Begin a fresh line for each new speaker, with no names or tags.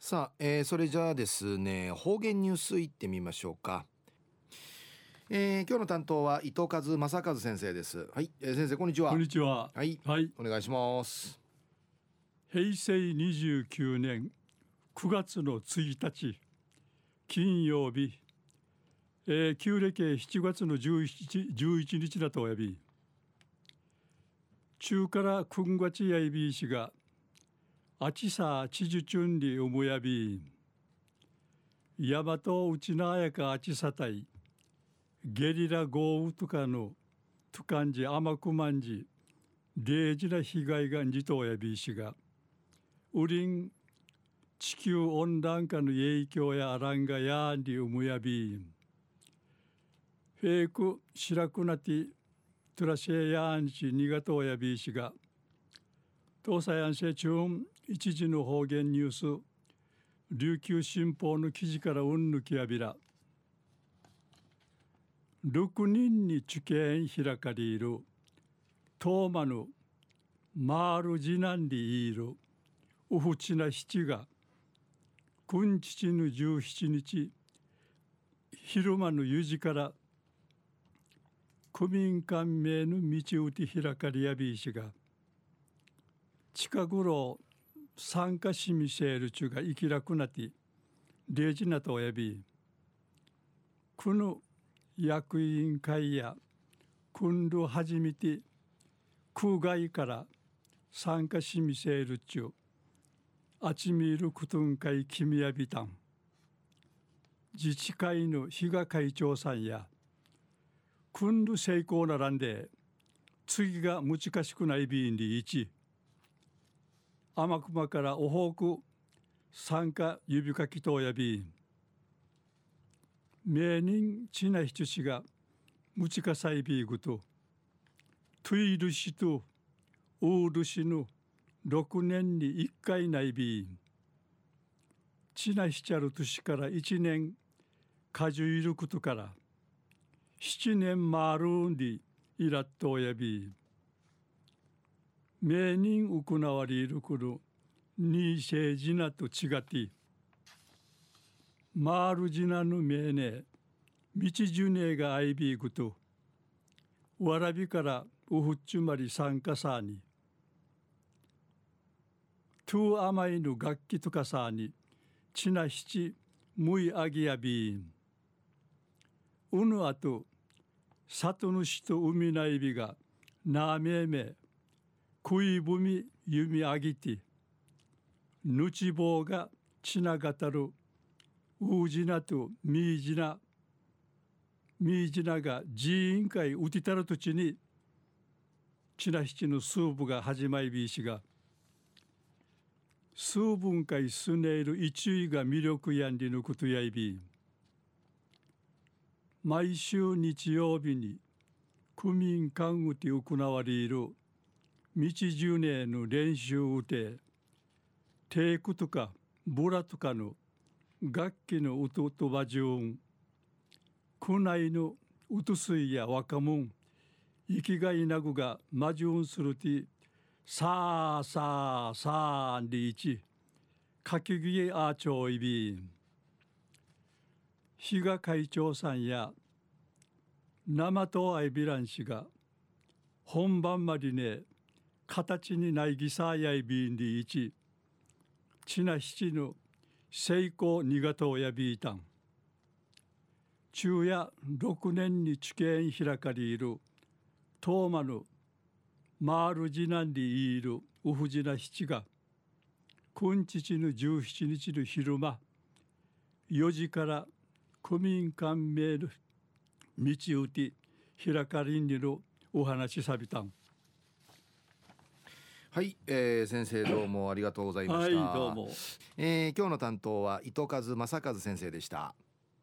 さあ、それじゃあですね、方言ニュースいってみましょうか。今日の担当は伊藤正和先生です。はい、先生こんにちは。
こんにちは。
はい、
はい。
お願いします。
平成29年9月の1日金曜日、旧暦7月の11日だとおやび、中からくんがちやいびいしがあちさちじゅちゅんりおもやび、やまとうちなあやかあちさたいゲリラ豪雨とかのとかんじあまくまんじ0時な被害がんじとおやびいしがウリン地球温暖化の影響やあらんがやんりうむやびんフェイク白くなってトラシェやんちにがとおやびいしが東西安市中一時の方言ニュース琉球新報の記事からうんぬきやびら6人に受験開かれるトーマヌマールジナンリいるウフチナ七が君父の17日昼間の4時から区民官名の道うて開かれやびいしが近頃参加しみせるちゅが生きらくなって0時なとおやびこの役員会や訓練始めて空外から参加しみせるちゅあちみるくとんかいきみやびたん自治会の比嘉会長さんや訓練成功ならんで次が難しくないびんり1天熊からおほうく参加指かきとやびん名人ちなひちしがむちかさいびぐとトゥイルシとウールシの6年に1回ないびんちなひちゃる年から1年かじゅいることから7年まるんりいらっとおやび名人行われるくるにせじなと違ってマールジナの名ね道ジュネがアイビーグとわらびからウフッチュマリ参加さにトゥーアマイの楽器とかさにちなひちむいあぎやびんうぬあと里主と海ないびがなめめくいぶみゆみあぎてぬちぼうがちながたるうじなとみいじなが寺院会うてたる土地にちなひちのスープが始まりびいしが数分解すねいる一位が魅力やんりのことやいび毎週日曜日に区民間うて行われる道10年の練習うてテークとかブラとかの楽器のうととばじゅん区内のうとすいや若者生きがいなぐがまじゅんするてさあさあさありいちかきぎえあちょういびん比嘉会長さんや生とあいびらんしが本番までね形にないぎさやいびんりいちちなひちの成功にがとうやびいたん中夜6年に知見開かれるトーマのマールジナンリいるウフジナ七が今日の17日の昼間4時から区民官名の道うて開かれんにのお話さびたん
はい、先生どうもありがとうございました。
はいどうも。
今日の担当は伊藤正和先生でした。